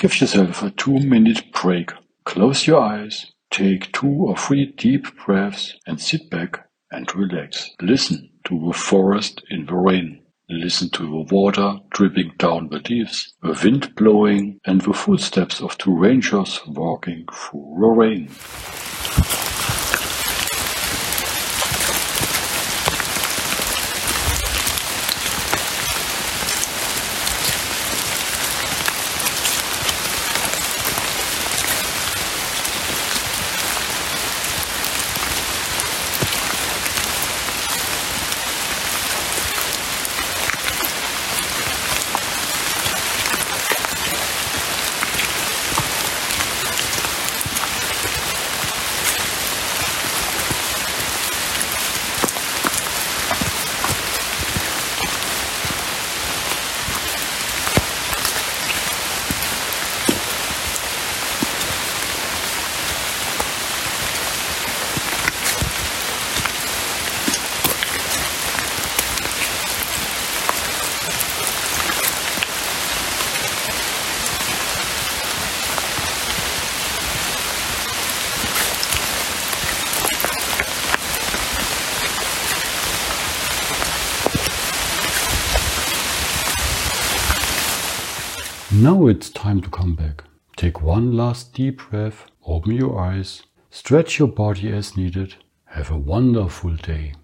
Give yourself a 2-minute break. Close your eyes, take 2 or 3 deep breaths and sit back and relax. Listen to the forest in the rain. Listen to the water dripping down the leaves, the wind blowing, and the footsteps of 2 rangers walking through the rain. Now it's time to come back. Take one last deep breath, open your eyes, stretch your body as needed. Have a wonderful day.